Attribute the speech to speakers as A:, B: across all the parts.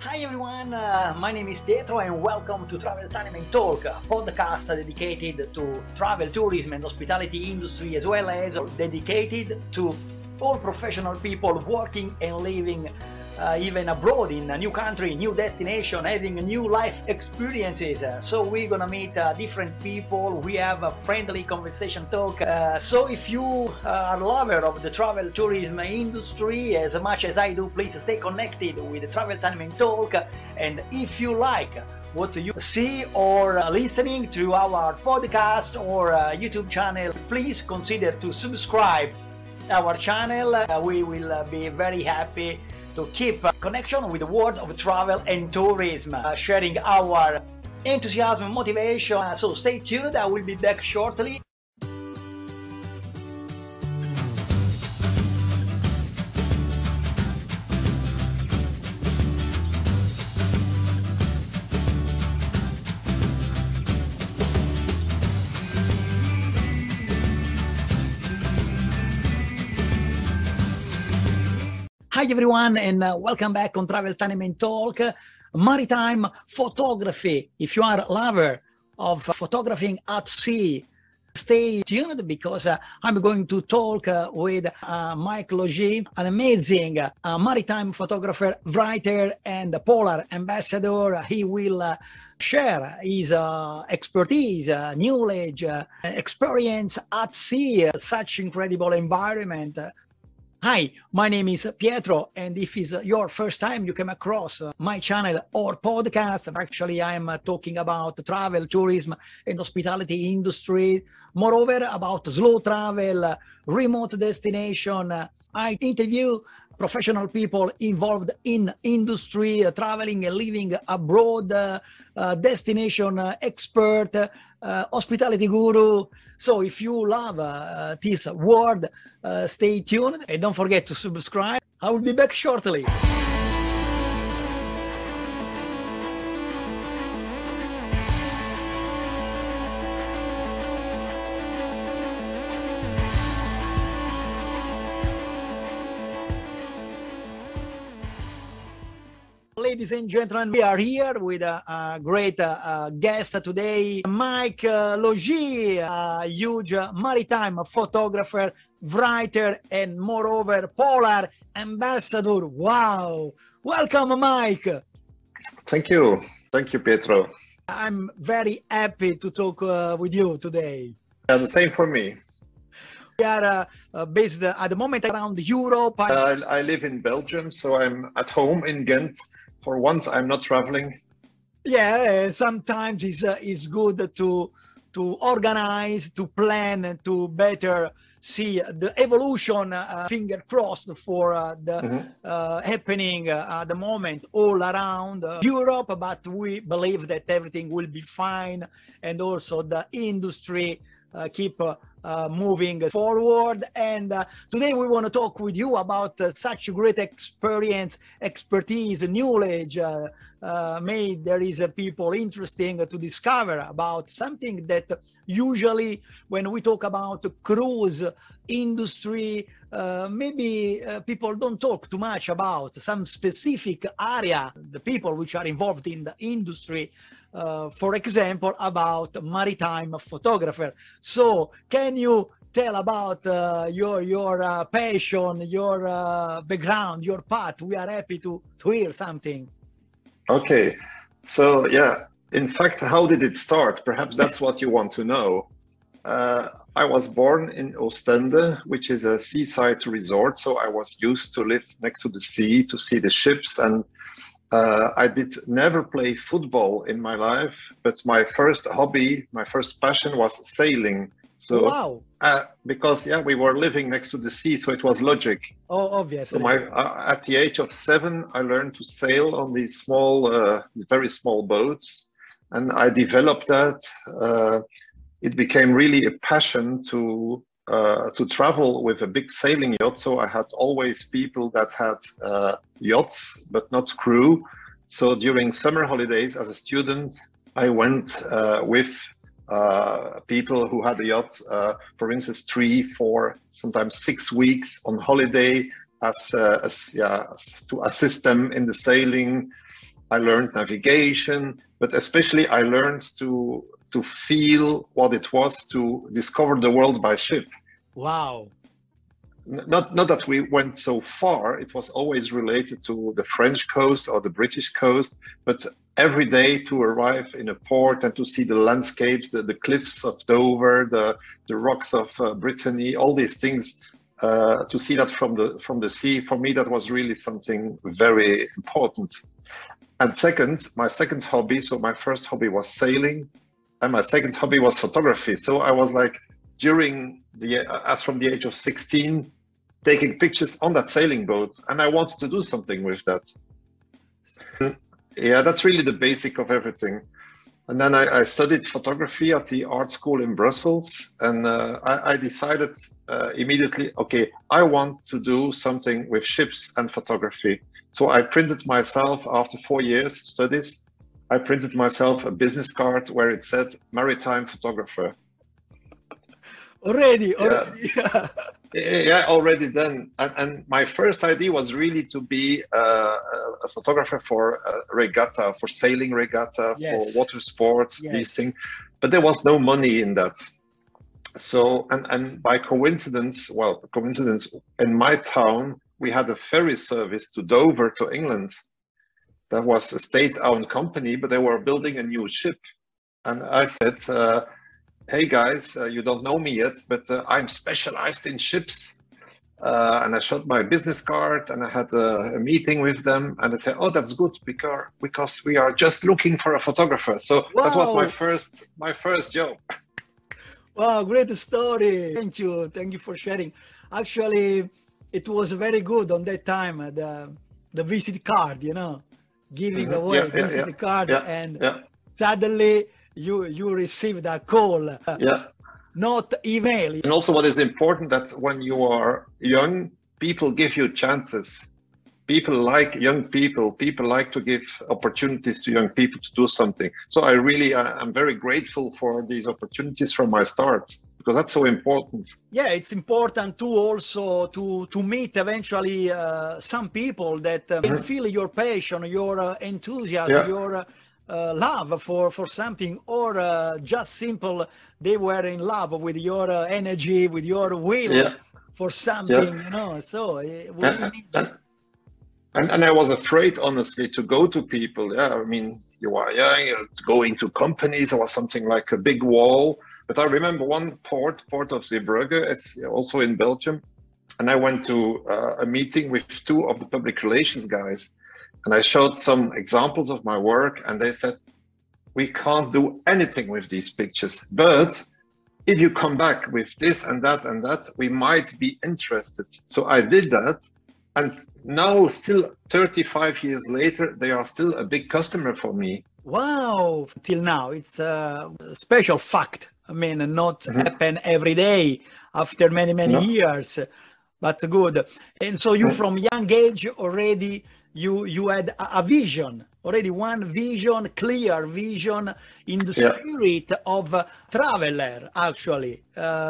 A: Hi everyone, my name is Pietro and welcome to Travel Time and Talk, a podcast dedicated to travel, tourism and hospitality industry, as well as dedicated to all professional people working and living even abroad in a new country, new destination, having new life experiences. So we're gonna meet different people, we have a friendly conversation talk. So if you are a lover of the travel tourism industry as much as I do, please stay connected with the Travel Time and Talk. And if you like what you see or listening to our podcast or YouTube channel, please consider to subscribe our channel. We will be very happy to keep connection with the world of travel and tourism, sharing our enthusiasm and motivation. So stay tuned, I will be back shortly. Hi everyone, and welcome back on Travel Time and Talk, maritime photography. If you are a lover of photographing at sea, stay tuned because I'm going to talk with Mike Logie, an amazing maritime photographer, writer, and polar ambassador. He will share his expertise, knowledge, experience at sea, such incredible environment. Hi, my name is Pietro, and if it's your first time you came across my channel or podcast, actually I'm talking about travel, tourism, and hospitality industry. Moreover, about slow travel, remote destination. I interview professional people involved in industry, traveling and living abroad, destination expert, hospitality guru. So if you love this word, stay tuned and don't forget to subscribe. I will be back shortly. Ladies and gentlemen, we are here with a great guest today, Mike Logie, a huge maritime photographer, writer, and moreover, polar ambassador. Wow! Welcome, Mike.
B: Thank you. Thank you, Pietro.
A: I'm very happy to talk with you today.
B: Yeah, the same for me.
A: We are based at the moment around Europe.
B: I live in Belgium, so I'm at home in Ghent. For once, I'm not traveling.
A: Yeah, sometimes it's good to organize, to plan, to better see the evolution. Finger crossed for the happening at the moment all around Europe. But we believe that everything will be fine, and also the industry keep moving forward. And today we want to talk with you about such great experience, expertise, knowledge. Made there is people interesting to discover about something that usually when we talk about cruise industry, maybe people don't talk too much about some specific area, the people which are involved in the industry. For example, about maritime photographer. So can you tell about your passion, your background, your path? We are happy to hear something.
B: Okay, so yeah, in fact, how did it start? Perhaps that's what you want to know. I was born in Ostende, which is a seaside resort. So I was used to live next to the sea, to see the ships, and I did never play football in my life, but my first hobby, my first passion was sailing. So,
A: wow.
B: Because we were living next to the sea, so it was logic.
A: Oh, obviously.
B: So at the age of 7, I learned to sail on these small, very small boats, and I developed that. It became really a passion to travel with a big sailing yacht. So I had always people that had yachts, but not crew. So during summer holidays as a student, I went with people who had a yacht, for instance, 3, 4, sometimes 6 weeks on holiday as to assist them in the sailing. I learned navigation, but especially I learned to feel what it was to discover the world by ship.
A: Wow.
B: Not that we went so far, it was always related to the French coast or the British coast, but every day to arrive in a port and to see the landscapes, the cliffs of Dover, the rocks of Brittany, all these things, to see that from the sea, for me that was really something very important. And second, my second hobby, so my first hobby was sailing, and my second hobby was photography. So I was like, as from the age of 16, taking pictures on that sailing boat, and I wanted to do something with that. Yeah, that's really the basic of everything. And then I studied photography at the art school in Brussels, and I decided immediately, okay, I want to do something with ships and photography. So I printed myself, after 4 years studies, I printed myself a business card where it said maritime photographer.
A: Already.
B: Yeah, already then. And my first idea was really to be a photographer for regatta, for sailing regatta,
A: Yes.
B: for water sports,
A: Yes.
B: these things. But there was no money in that. So, and by coincidence, in my town, we had a ferry service to Dover, to England. That was a state-owned company, but they were building a new ship. And I said, hey guys, you don't know me yet, but I'm specialized in ships. And I showed my business card, and I had a meeting with them, and they said, oh, that's good, because we are just looking for a photographer. So that was my first job.
A: Wow, great story. Thank you for sharing. Actually, it was very good on that time, the visit card, giving away a visit card, and suddenly you received a call, not email.
B: And also what is important, that when you are young, people give you chances. People like young people. People like to give opportunities to young people to do something. So I'm very grateful for these opportunities from my start, because that's so important.
A: Yeah, it's important to also to meet eventually some people that can feel your passion, your enthusiasm, your love for something, or just simple they were in love with your energy, with your will for something, So we need.
B: And I was afraid, honestly, to go to people. Yeah, I mean, you are young, going to companies. There was something like a big wall. But I remember one port of Zeebrugge, it's also in Belgium. And I went to a meeting with 2 of the public relations guys. And I showed some examples of my work. And they said, we can't do anything with these pictures. But if you come back with this and that, we might be interested. So I did that. And now, still 35 years later, they are still a big customer for me.
A: Wow, till now, it's a special fact. I mean, not happen every day after many years, but good. And so you, from young age already, you had a vision, already one vision, clear vision in the spirit of a traveler, actually.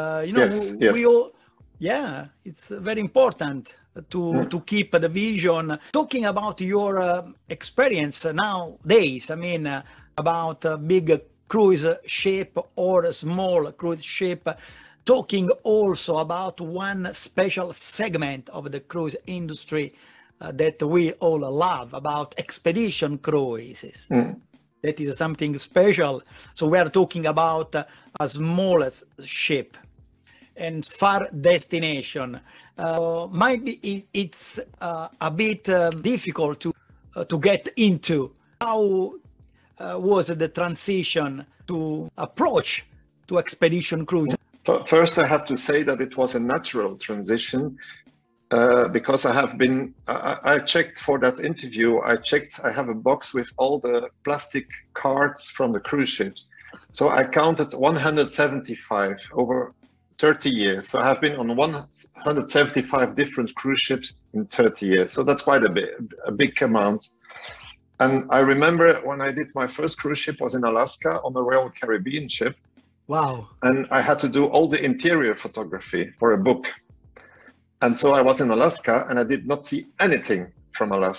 A: We all, it's very important to keep the vision. Talking about your experience nowadays, I mean, about a big cruise ship or a small cruise ship, talking also about one special segment of the cruise industry that we all love, about expedition cruises. That is something special. So we are talking about a smallest ship and far destination. Might be it's a bit difficult to get into. How was the transition to approach to expedition cruise?
B: First, I have to say that it was a natural transition, because I checked for that interview. I have a box with all the plastic cards from the cruise ships. So I counted 175 over 30 years. So I have been on 175 different cruise ships in 30 years. So that's quite a big amount. And I remember when I did my first cruise ship was in Alaska on the Royal Caribbean ship.
A: Wow.
B: And I had to do all the interior photography for a book. And so I was in Alaska and I did not see anything from Alaska.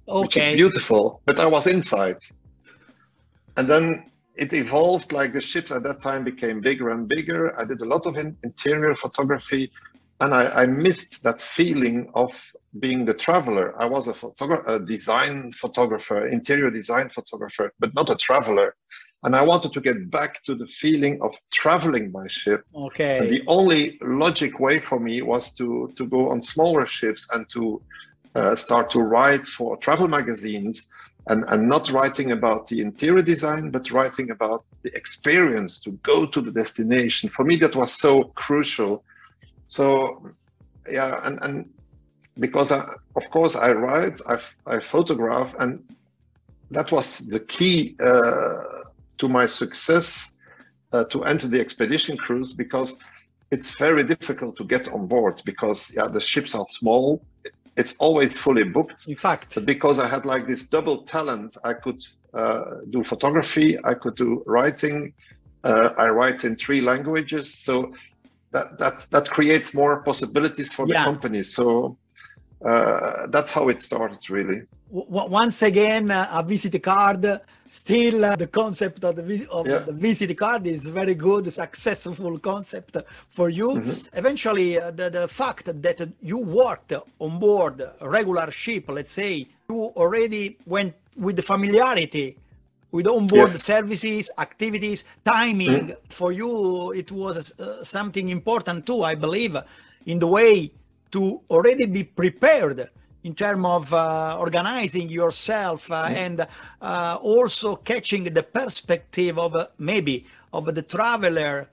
B: which is
A: Okay.
B: beautiful, but I was inside. And then it evolved, like the ships at that time became bigger and bigger. I did a lot of interior photography, and I missed that feeling of being the traveler. I was a design photographer, interior design photographer, but not a traveler. And I wanted to get back to the feeling of traveling by ship.
A: Okay.
B: And the only logic way for me was to go on smaller ships and to start to write for travel magazines, and not writing about the interior design, but writing about the experience to go to the destination. For me, that was so crucial. So, yeah, and because of course I write, I photograph, and that was the key to my success to enter the expedition cruise, because it's very difficult to get on board, because the ships are small. It's always fully booked.
A: In fact,
B: but because I had like this double talent, I could do photography, I could do writing. I write in 3 languages, so that creates more possibilities for the company. So that's how it started, really.
A: Once again, a visit card. Still, the concept of the visit card is very good, successful concept for you. Mm-hmm. Eventually, the fact that you worked on board a regular ship, let's say, you already went with the familiarity with onboard services, activities, timing. Mm-hmm. For you, it was something important too, I believe, in the way to already be prepared in terms of organizing yourself and also catching the perspective of maybe of the traveler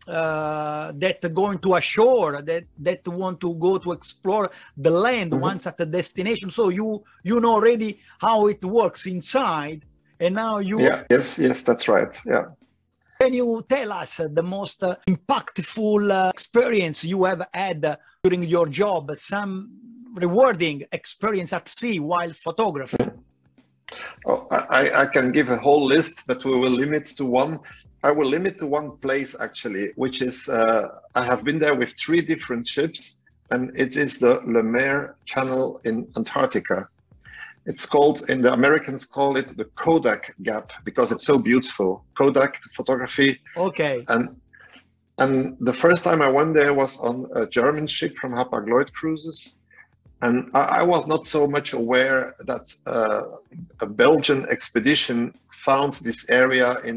A: that going to ashore, that want to go to explore the land once at the destination. So you know already how it works inside, and now you...
B: Yes, that's right,
A: Can you tell us the most impactful experience you have had during your job, some rewarding experience at sea while photographing?
B: Oh, I can give a whole list, but we will limit to one. I will limit to one place, actually, which is, I have been there with 3 different ships, and it is the Le Maire Channel in Antarctica. It's called, and the Americans call it the Kodak Gap, because it's so beautiful. Kodak photography.
A: Okay.
B: And the first time I went there was on a German ship from Hapag-Lloyd Cruises. And I was not so much aware that a Belgian expedition found this area in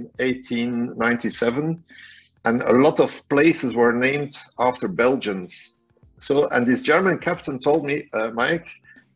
B: 1897. And a lot of places were named after Belgians. So, and this German captain told me, Mike,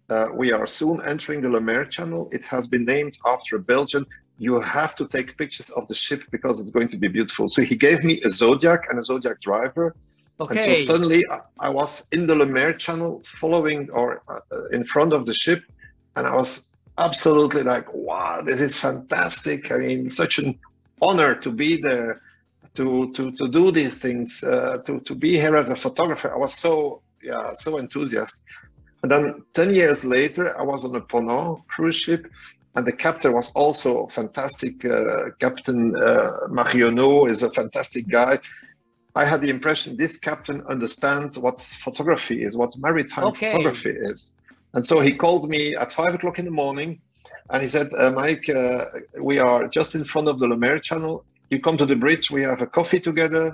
B: we are soon entering the Le Maire Channel. It has been named after a Belgian. You have to take pictures of the ship because it's going to be beautiful. So he gave me a Zodiac and a Zodiac driver. Okay. And so suddenly I was in the Le Maire Channel following or in front of the ship. And I was absolutely like, wow, this is fantastic. I mean, such an honor to be there, to do these things, to be here as a photographer. I was so enthusiastic. And then 10 years later, I was on a Ponant cruise ship, and the captain was also fantastic. Captain Marionneau is a fantastic guy. I had the impression this captain understands what photography is, what maritime photography is. And so he called me at 5 o'clock in the morning, and he said, Mike, we are just in front of the Le Maire Channel. You come to the bridge, we have a coffee together,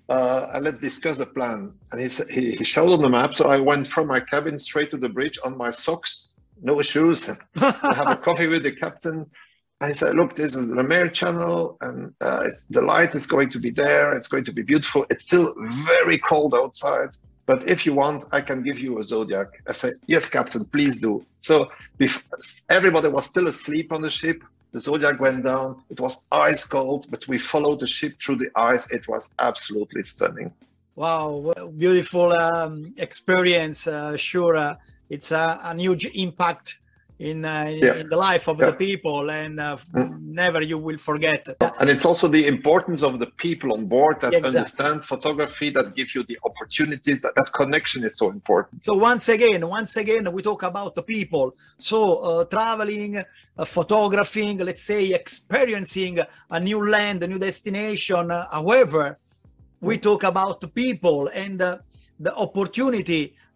B: and let's discuss the plan. And he showed on the map. So I went from my cabin straight to the bridge on my socks, no shoes. I have a coffee with the captain. And he said, look, this is the Le Maire Channel, and the light is going to be there. It's going to be beautiful. It's still very cold outside, but if you want, I can give you a Zodiac. I said, yes, Captain, please do. So everybody was still asleep on the ship. The Zodiac went down. It was ice cold, but we followed the ship through the ice. It was absolutely stunning.
A: Wow, beautiful experience. Sure, it's a huge impact in the life of the people, and never you will forget.
B: And it's also the importance of the people on board that understand photography, that give you the opportunities. That connection is so important.
A: So once again, we talk about the people. So traveling, photographing, let's say experiencing a new land, a new destination. However, we talk about the people and the opportunity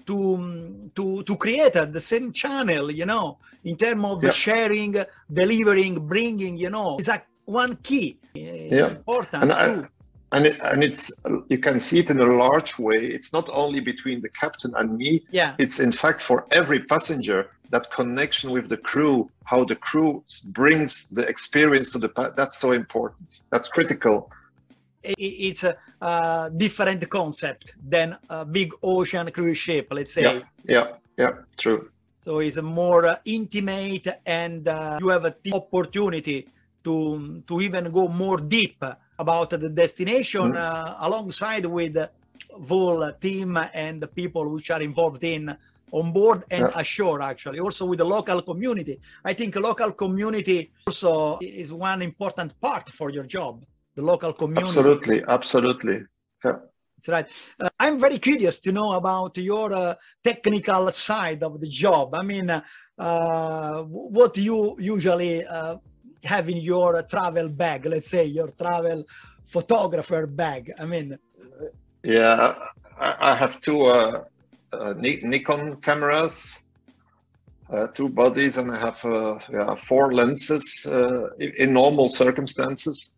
A: to create the same channel, you know, in terms of the sharing, delivering, bringing, you know, is like one key important too.
B: And it's, you can see it in a large way. It's not only between the captain and me.
A: Yeah.
B: It's in fact for every passenger, that connection with the crew, how the crew brings the experience to the, that's so important. That's critical.
A: It's a different concept than a big ocean cruise ship, let's say.
B: Yeah, true.
A: So it's a more intimate, and you have an opportunity to even go more deep about the destination alongside with the whole team and the people which are involved in on board and ashore, actually, also with the local community. I think local community also is one important part for your job, the local community.
B: Absolutely. Yeah.
A: That's right. I'm very curious to know about your technical side of the job. I mean, what do you usually have in your travel bag, let's say your travel photographer bag? I mean,
B: yeah, I have two Nikon cameras, two bodies, and I have 4 lenses in normal circumstances.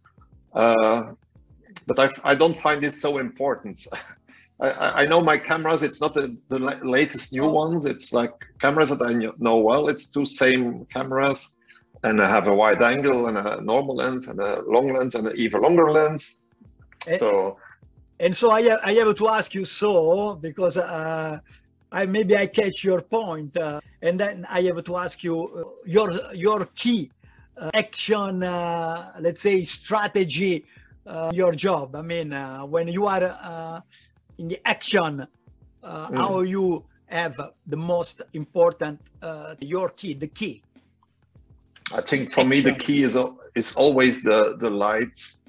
B: But I don't find this so important. I know my cameras, it's not the latest new ones. It's like cameras that I know well. It's 2 same cameras, and I have a wide angle and a normal lens and a long lens and an even longer lens. So
A: I have to ask you, because maybe I catch your point, and then I have to ask you your key action, let's say strategy, your job. I mean, when you are in the action, how you have the most important, your key, the key.
B: I think for me, the key is always the lights.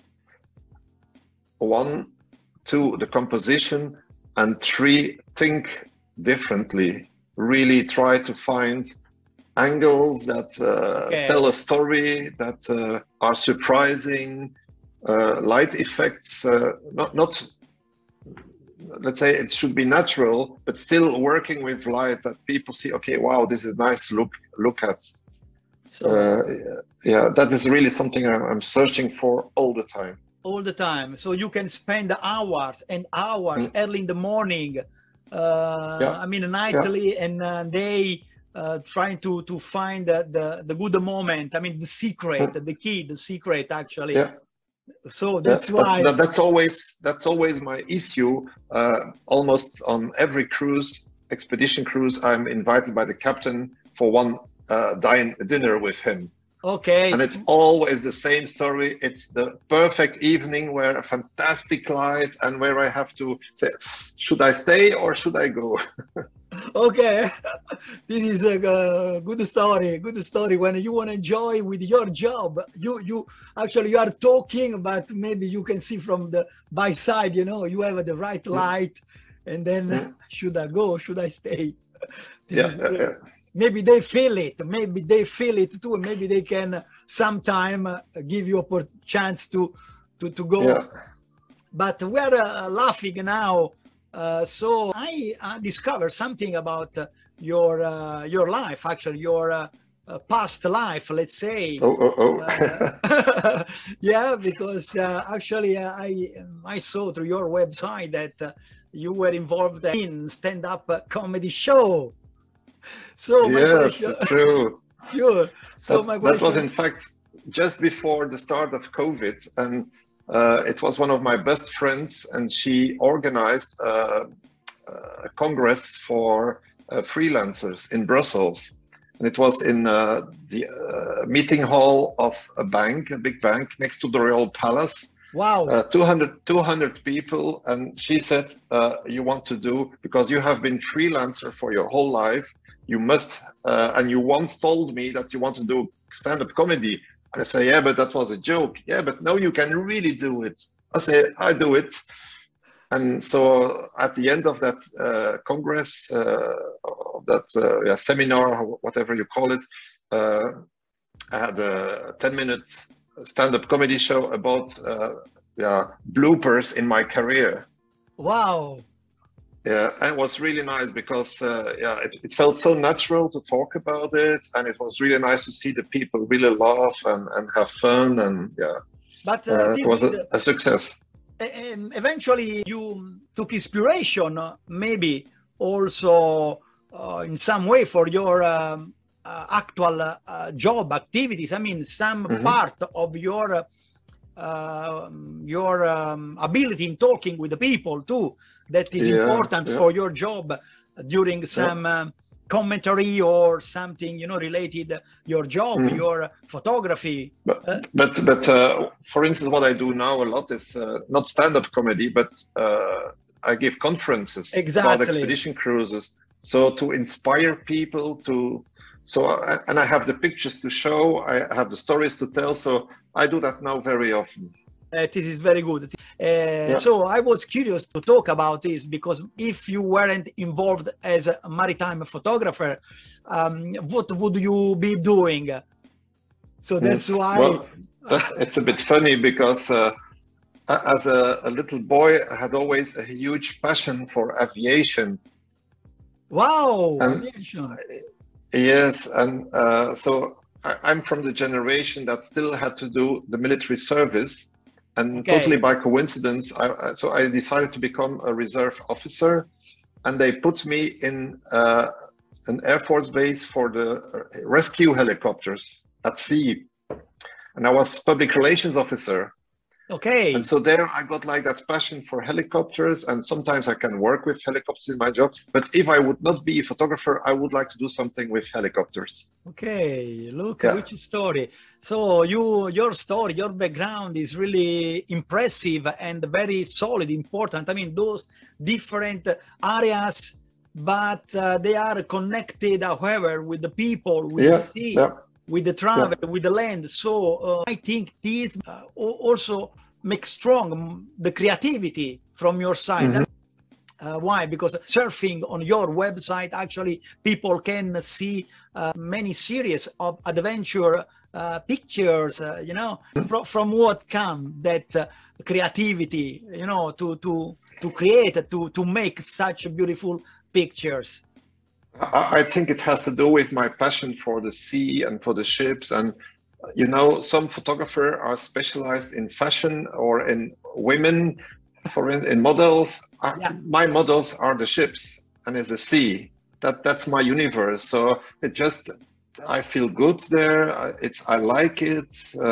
B: 1, 2, the composition, and 3, think differently. Really try to find angles that tell a story, that are surprising, light effects, not let's say it should be natural, but still working with light that people see, okay, wow, this is nice to look at. Yeah, that is really something I'm searching for all the time.
A: All the time. So you can spend hours and hours early in the morning, I mean nightly and day, trying to find the good moment. I mean the secret, the key, the secret actually. So that's why
B: that's always my issue. Almost on every cruise, expedition cruise, I'm invited by the captain for one dinner with him.
A: Okay.
B: And it's always the same story. It's the perfect evening where a fantastic light, and where I have to say, should I stay or should I go?
A: Okay. This is a good story. Good story. When you want to enjoy with your job, you actually you are talking, but maybe you can see from the by side, you know, you have the right light, and then should I go? Should I stay? Maybe they feel it. Maybe they feel it too. Maybe they can sometime give you a chance to go.
B: Yeah.
A: But we're laughing now. So I discovered something about your life, actually your past life, let's say. Yeah, because actually I saw through your website that you were involved in stand-up comedy show. So
B: yes, true.
A: Sure. So my question,
B: that was in fact just before the start of COVID, and it was one of my best friends, and she organized a congress for freelancers in Brussels, and it was in the meeting hall of a bank, a big bank next to the Royal Palace.
A: Wow.
B: 200 people, and she said, you want to do, because you have been freelancer for your whole life, you must, and you once told me that you want to do stand-up comedy. And I say, yeah, but that was a joke. Yeah, but no, you can really do it. I say, I do it. And so at the end of that congress, seminar, whatever you call it, I had a 10-minute stand-up comedy show about bloopers in my career.
A: Wow.
B: Yeah, and it was really nice because yeah, it felt so natural to talk about it, and it was really nice to see the people really laugh and have fun, and yeah,
A: But
B: it was a success.
A: eventually you took inspiration, maybe also in some way for your actual job activities. I mean, some part of your ability in talking with the people too, that is important for your job during some commentary or something, you know, related your job, your photography.
B: But for instance, what I do now a lot is not stand-up comedy, but I give conferences about expedition cruises, so to inspire people to. So and I have the pictures to show, I have the stories to tell, so I do that now very often.
A: This is very good. So I was curious to talk about this, because if you weren't involved as a maritime photographer, what would you be doing? So that's why.
B: Well, it's a bit funny because as a little boy, I had always a huge passion for aviation.
A: Wow, aviation.
B: Yes, and so I'm from the generation that still had to do the military service, and totally by coincidence, so I decided to become a reserve officer, and they put me in an Air Force base for the rescue helicopters at sea, and I was public relations officer.
A: Okay.
B: And so there I got like that passion for helicopters, and sometimes I can work with helicopters in my job. But if I would not be a photographer, I would like to do something with helicopters.
A: Okay, look, which story. So your story, your background is really impressive and very solid, important. I mean, those different areas, but they are connected, however, with the people, with the sea. With the travel, with the land. So I think this also makes strong the creativity from your side. Why? Because surfing on your website, actually people can see many series of adventure pictures, you know, from what come that creativity, you know, to create, to make such beautiful pictures.
B: I think it has to do with my passion for the sea and for the ships. And, you know, some photographers are specialized in fashion or in women, in models. My models are the ships and is the sea. That's my universe. So it just, I feel good there. I like it.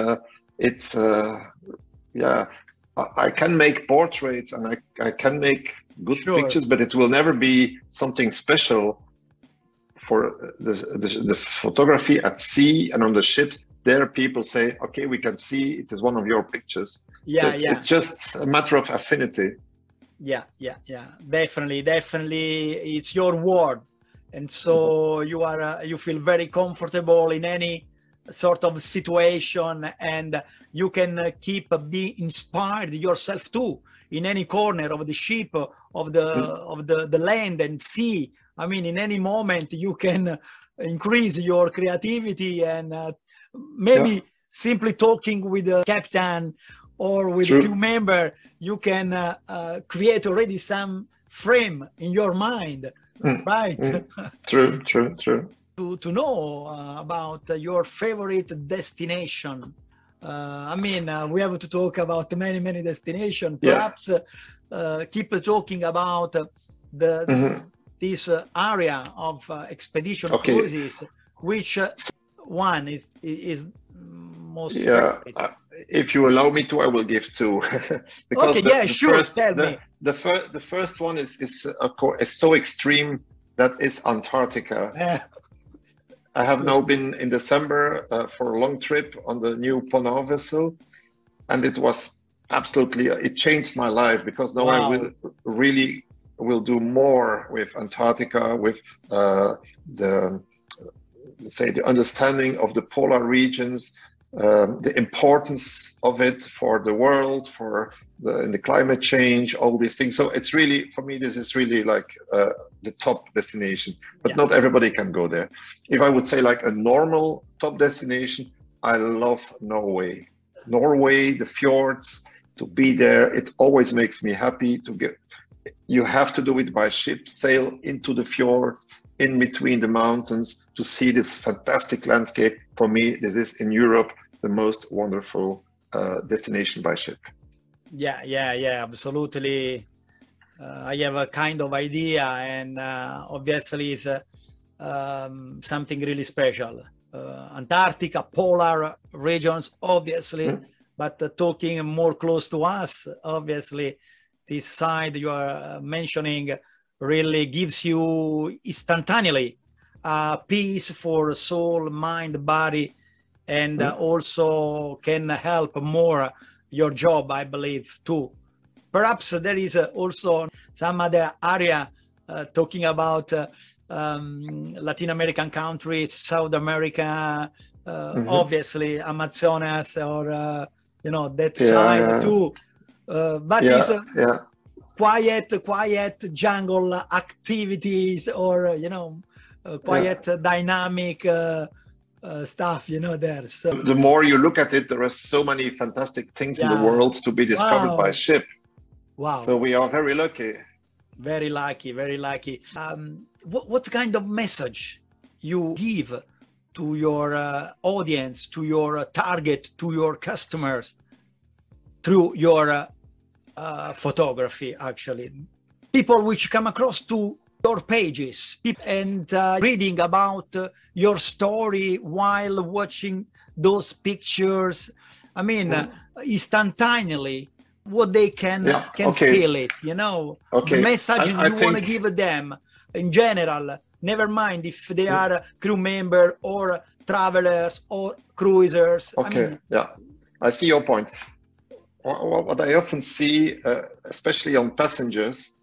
B: I can make portraits and I can make good pictures, but it will never be something special. For the photography at sea and on the ships, there people say, okay, we can see it is one of your pictures. It's just a matter of affinity.
A: Definitely it's your word, and so you feel very comfortable in any sort of situation, and you can be inspired yourself too in any corner of the ship, of the land and sea. I mean, in any moment you can increase your creativity, and maybe simply talking with the captain or with a crew member, you can create already some frame in your mind, right?
B: True.
A: To know about your favorite destination. I mean, we have to talk about many destinations. Perhaps keep talking about this area of expedition cruises. Which one is most favorite?
B: If you allow me to, I will give two. Because
A: tell me.
B: The first one is so extreme, that is Antarctica. I have now been in December for a long trip on the new Ponant vessel, and it was absolutely, it changed my life, because now I will do more with Antarctica, with the understanding of the polar regions, the importance of it for the world, in the climate change, all these things. So it's really, for me, this is really like the top destination, but not everybody can go there. If I would say like a normal top destination, I love Norway. Norway, the fjords, to be there, it always makes me happy to you have to do it by ship, sail into the fjord, in between the mountains to see this fantastic landscape. For me, this is in Europe, the most wonderful destination by ship.
A: Yeah, absolutely. I have a kind of idea, and obviously it's something really special. Antarctica, polar regions, obviously, but talking more close to us, obviously, this side you are mentioning really gives you instantaneously peace for soul, mind, body, and also can help more your job, I believe, too. Perhaps there is also some other area talking about Latin American countries, South America, obviously Amazonas, or that side too. But it's quiet jungle activities, or quiet dynamic stuff, there. So
B: the more you look at it, there are so many fantastic things in the world to be discovered by ship.
A: Wow.
B: So we are very lucky.
A: Very lucky, very lucky. What kind of message you give to your audience, to your target, to your customers through your photography, actually? People which come across to your pages and reading about your story while watching those pictures, I mean, instantaneously, what they can feel it, the message you want to give them in general, never mind if they are crew member or travelers or cruisers.
B: I see your point. What I often see, especially on passengers,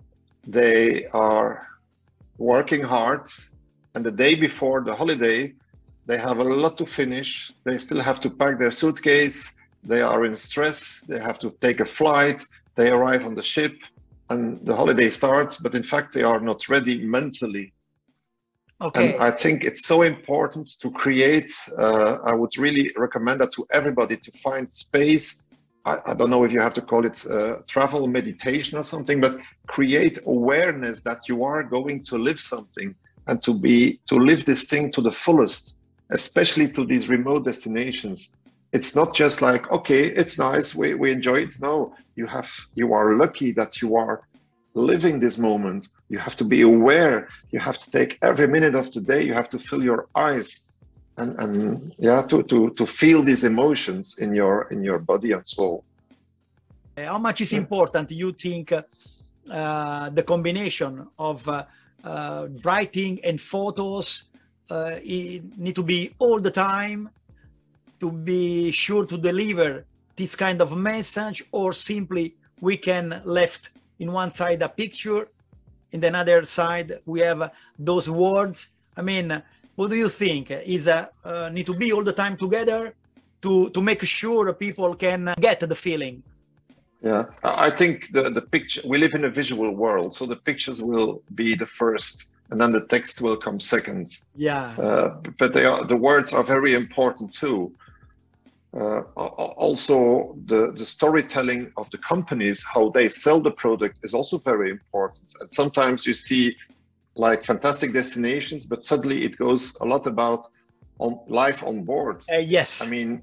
B: they are working hard, and the day before the holiday, they have a lot to finish. They still have to pack their suitcase. They are in stress. They have to take a flight. They arrive on the ship and the holiday starts, but in fact, they are not ready mentally.
A: Okay.
B: And I think it's so important to create, I would really recommend that to everybody, to find space. I don't know if you have to call it travel meditation or something, but create awareness that you are going to live something, and to live this thing to the fullest, especially to these remote destinations. It's not just like, okay, it's nice, we enjoy it. No, you are lucky that you are living this moment. You have to be aware. You have to take every minute of the day. You have to fill your eyes and to feel these emotions in your body and soul.
A: How much is important, you think, the combination of writing and photos need to be all the time to be sure to deliver this kind of message, or simply we can left in one side a picture, in the other side we have those words? I mean, what do you think? Is need to be all the time together to make sure people can get the feeling?
B: Yeah, I think the picture, we live in a visual world, so the pictures will be the first, and then the text will come second.
A: Yeah.
B: But the words are very important too. Also, the storytelling of the companies, how they sell the product, is also very important. And sometimes you see like fantastic destinations, but suddenly it goes a lot about life on board.
A: Yes.
B: I mean,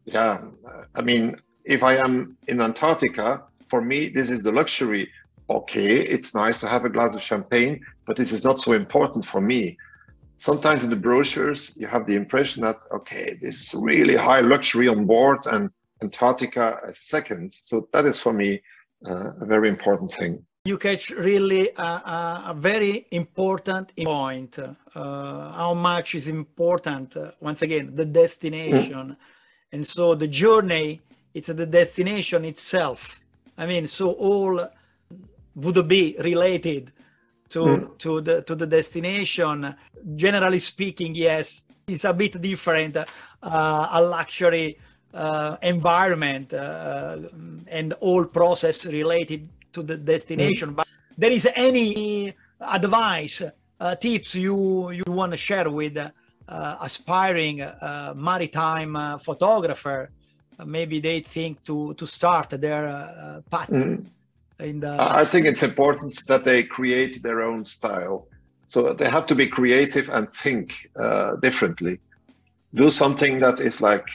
B: if I am in Antarctica, for me, this is the luxury. Okay, it's nice to have a glass of champagne, but this is not so important for me. Sometimes in the brochures, you have the impression that, okay, this is really high luxury on board, and Antarctica is second. So that is for me a very important thing.
A: You catch really a very important point. How much is important, once again, the destination. And so the journey, it's the destination itself. I mean, so all would be related to the destination. Generally speaking, yes, it's a bit different, a luxury environment and all process related to the destination. But there is any advice, tips you want to share with aspiring maritime photographer? Maybe they think to start their path. in the.
B: I think it's important that they create their own style. So they have to be creative and think differently. Do something that is like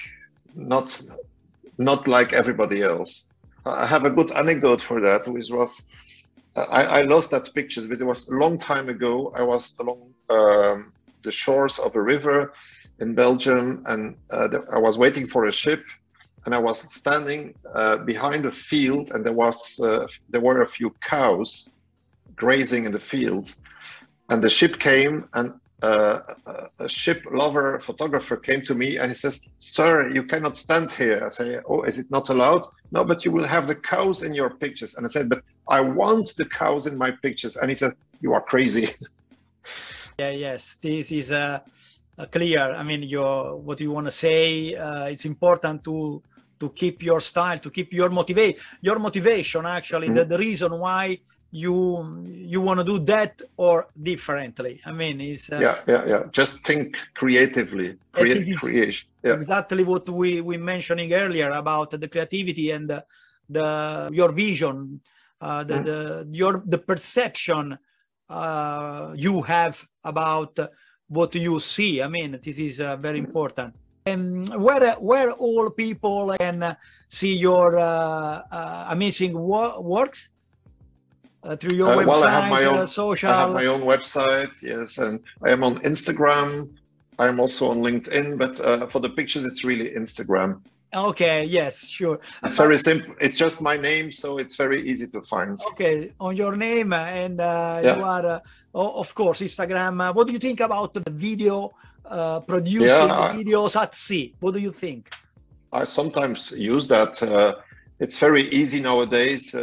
B: not like everybody else. I have a good anecdote for that, which was I lost that pictures, but it was a long time ago. I was along the shores of a river in Belgium, and I was waiting for a ship, and I was standing behind a field, and there were a few cows grazing in the field, and the ship came, and a ship lover photographer came to me and he says, "Sir, you cannot stand here." I say, "Oh, is it not allowed?" "No, but you will have the cows in your pictures." And I said, "But I want the cows in my pictures." And he said, "You are crazy."
A: Yeah, yes, this is clear. I mean, what you want to say. It's important to keep your style, to keep your motivation. Actually, the reason why you want to do that or differently. I mean, is
B: yeah. Just think creatively, creation. Yeah.
A: Exactly what we mentioning earlier about the creativity and your vision, the perception you have about what you see. I mean, this is very important. And where all people can see your amazing works. Through your website,
B: well, I have my own
A: social.
B: I have my own website, yes, and I am on Instagram. I am also on LinkedIn, but for the pictures, it's really Instagram.
A: Okay, yes, sure.
B: It's very simple. It's just my name, so it's very easy to find.
A: Okay, on your name, and you are, of course, Instagram. What do you think about the video producing videos at sea? What do you think?
B: I sometimes use that. It's very easy nowadays.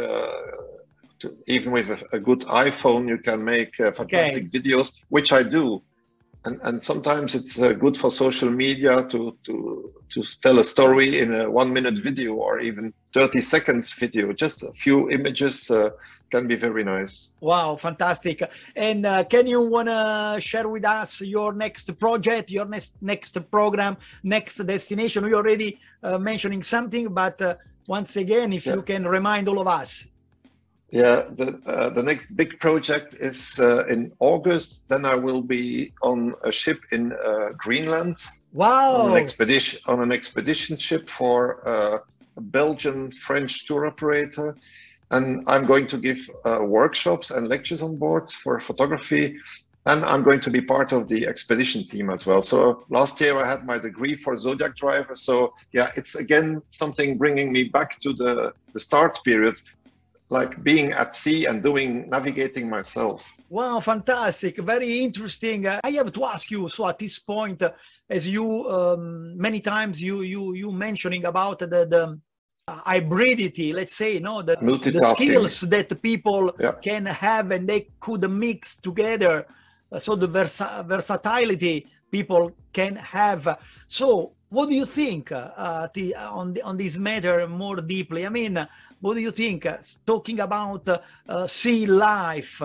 B: Even with a good iPhone, you can make fantastic videos, which I do, and sometimes it's good for social media to tell a story in a 1-minute video or even 30 seconds video. Just a few images can be very nice.
A: Wow, fantastic! And can you wanna share with us your next project, your next program, next destination? We already mentioning something, but once again, if you can remind all of us.
B: Yeah, the next big project is in August. Then I will be on a ship in Greenland.
A: Wow!
B: On an expedition ship for a Belgian-French tour operator, and I'm going to give workshops and lectures on board for photography, and I'm going to be part of the expedition team as well. So last year I had my degree for Zodiac driver. So yeah, it's again something bringing me back to the start period, like being at sea and navigating myself.
A: Wow, fantastic, very interesting. I have to ask you, so at this point, as you many times you mentioning about the hybridity, let's say, the skills that people can have and they could mix together. So the versatility people can have. So what do you think on this matter more deeply? I mean, what do you think, talking about sea life,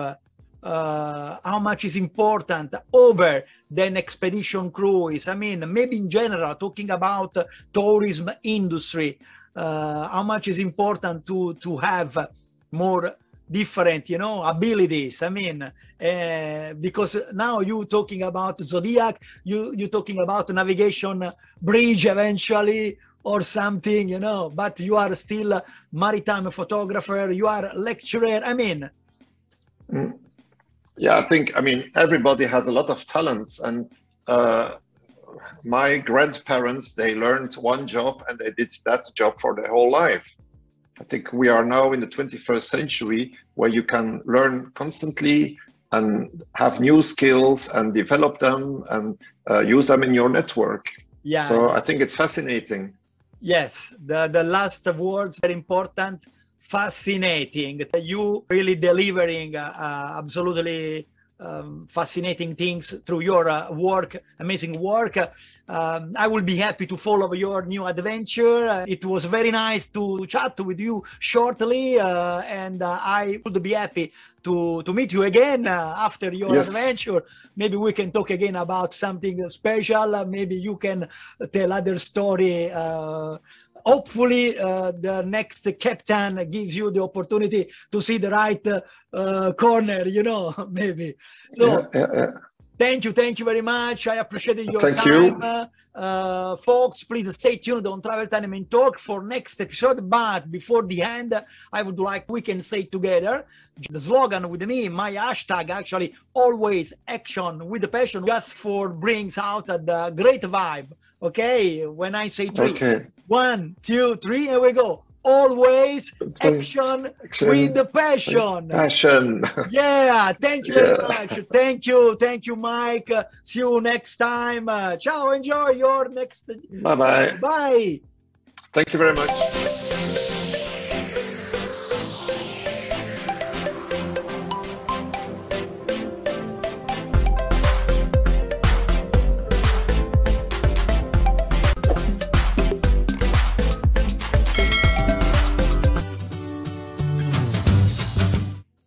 A: how much is important over than expedition cruise? I mean, maybe in general, talking about tourism industry, how much is important to have more different, abilities. I mean, because now you talking about Zodiac, you talking about navigation bridge eventually, or something, but you are still a maritime photographer, you are a lecturer. I mean.
B: Yeah, I mean, everybody has a lot of talents, and my grandparents, they learned one job and they did that job for their whole life. I think we are now in the 21st century where you can learn constantly and have new skills and develop them and use them in your network. Yeah. So I think it's fascinating.
A: Yes, the last words are important. Fascinating. You really delivering absolutely fascinating things through your work, amazing work. I will be happy to follow your new adventure. It was very nice to chat with you shortly, and I would be happy to meet you again after your adventure. Maybe we can talk again about something special. Maybe you can tell other story hopefully the next captain gives you the opportunity to see the right corner, you know, maybe. So thank you very much. I appreciated your time. Folks, please stay tuned on Travel Tandem Talk for next episode. But before the end, I would like we can say together the slogan with me, my hashtag actually, always action with passion, just for brings out the great vibe. Okay, when I say three, 1, 2, 3, here we go. Always action with the passion. Yeah, thank you very much. Thank you, Mike. See you next time. Ciao, enjoy your next.
B: Bye-bye.
A: Bye.
B: Thank you very much.